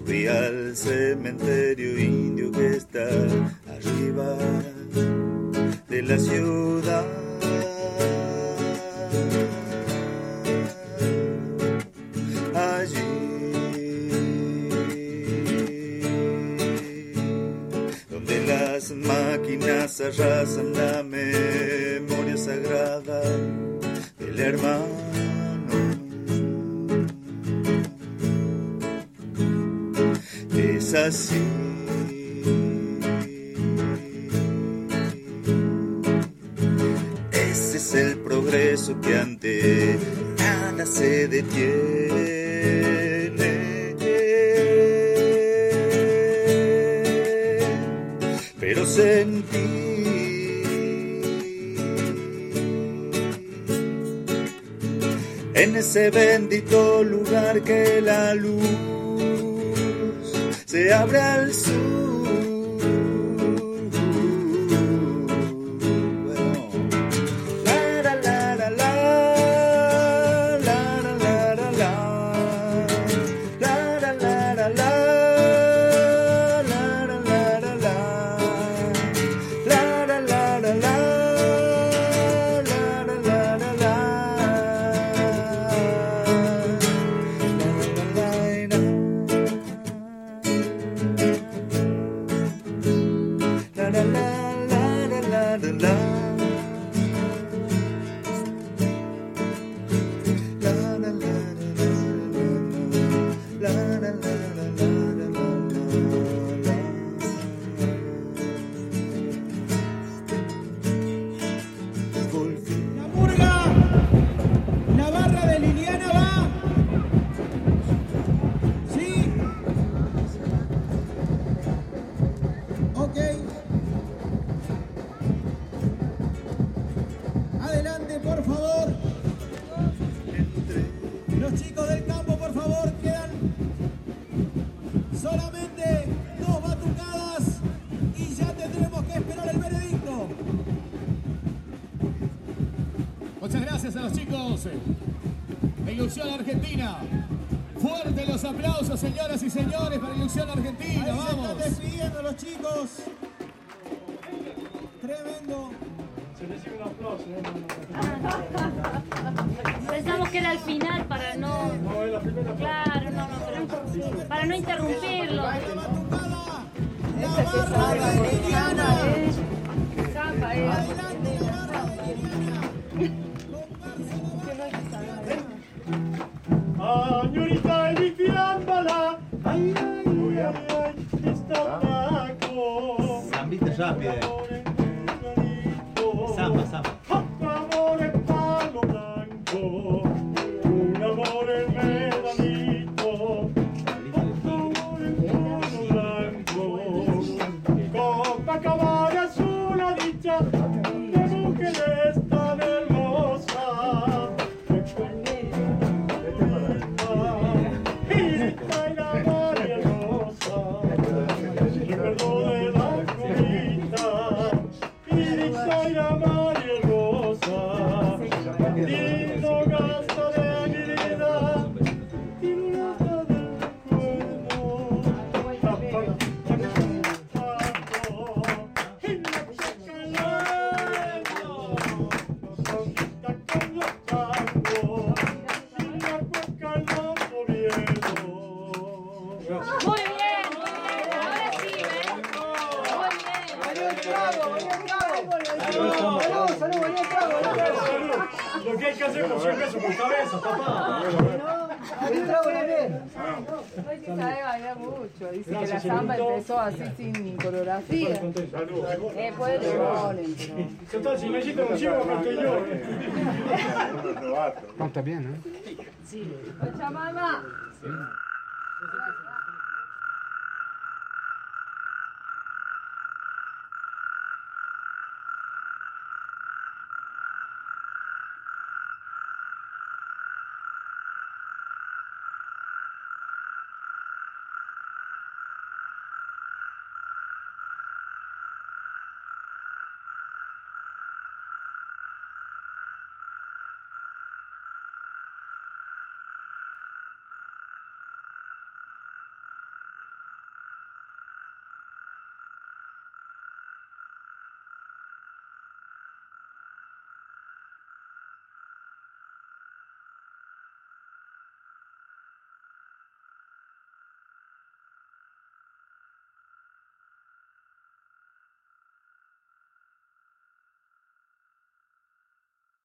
Fui al cementerio indio que está arriba de la ciudad. Allí donde las máquinas arrasan la memoria sagrada del hermano. Es así. Ese es el progreso que ante nada se detiene. Pero sentí en ese bendito lugar que la luz se abre al sur. Bueno. La la la la la, la la la la la, la la la la la, la la la la la, la la la la la, la la la la la. La la la la la la. La murga, la barra de Liliana va. ¿Sí? Ok. Adelante, por favor. Los chicos del campo, por favor, quedan solamente 2 batucadas y ya tendremos que esperar el veredicto. Muchas gracias a los chicos de Ilusión Argentina. Fuerte los aplausos, señoras y señores, para Ilusión Argentina. Ahí Vamos. se están despidiendo los chicos. Tremendo. Se recibe un aplauso. Pensamos que era el final para no... No, es la primera. Claro, no, pero para no interrumpirlo. La batucada, la barra de Liliana. Zapa, Adelante, la barra de Liliana. Señorita Elifiámbala, ay, ay, ay, ay, está blanco. Zambita rápido. Samba, samba. Otro amor en palo blanco, un amor en medanito, otro amor en palo blanco. Copacabana es una dicha de mujeres tan hermosas. Y la María Rosa, recuerdo de la comida. Y la María Rosa, lindo gasto de mi vida, y una del recuerdo. Y la chacalera, sonrisa con los tangos, y la cueca en los gobiernos. Muy bien, ahora sí, ¿ves? Muy bien. Lo que hay que hacer con 100 pesos por cabeza, papá. Hoy sí sabe bailar mucho. Dice que la samba empezó así sin coreografía. Después le ponen, pero... Si me hiciste un chivo, acá estoy yo. Está bien, ¿eh? Sí. Pachamama.